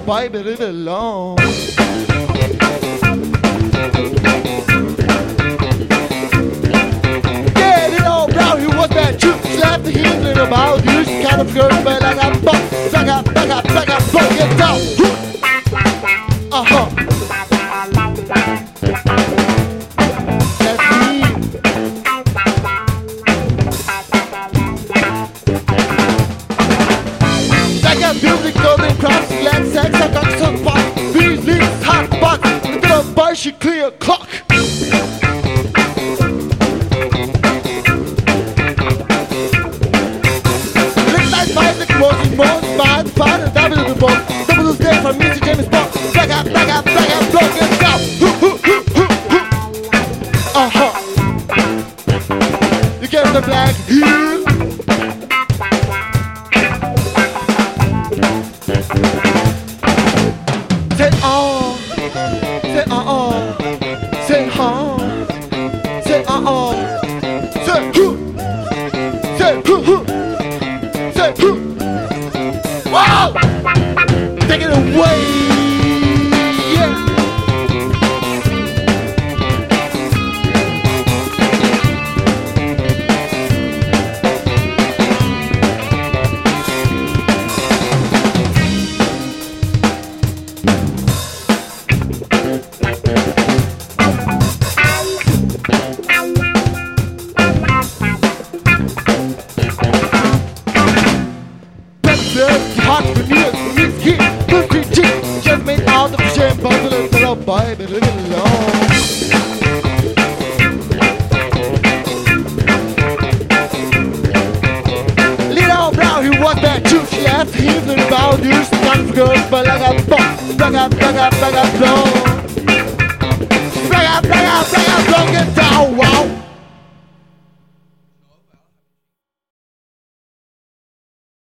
boy, but leave it alone. Yeah, little brown, he was bad too. Slapped the heel little about you. She kind of girl, but like a buck. Back up, fuck it down. Uh-huh. That's me. I got music, golden cross, land sex, I got some fun. These leaves, hot box, and then a bar, she clear clock. Part of double the boat, double the day from Mr. James Bond. Back up, block it down. Uh-huh. You get the black heel. Say say say say say say wow! Take it away! Yeah! Hot veneers, meets heat, pussy cheek. Just made out of the shame, but the little boy, but leave it alone. Little brown, he was bad too. She asked him to about you. She's kind of girl, but like a box. Back up, blow. Back up.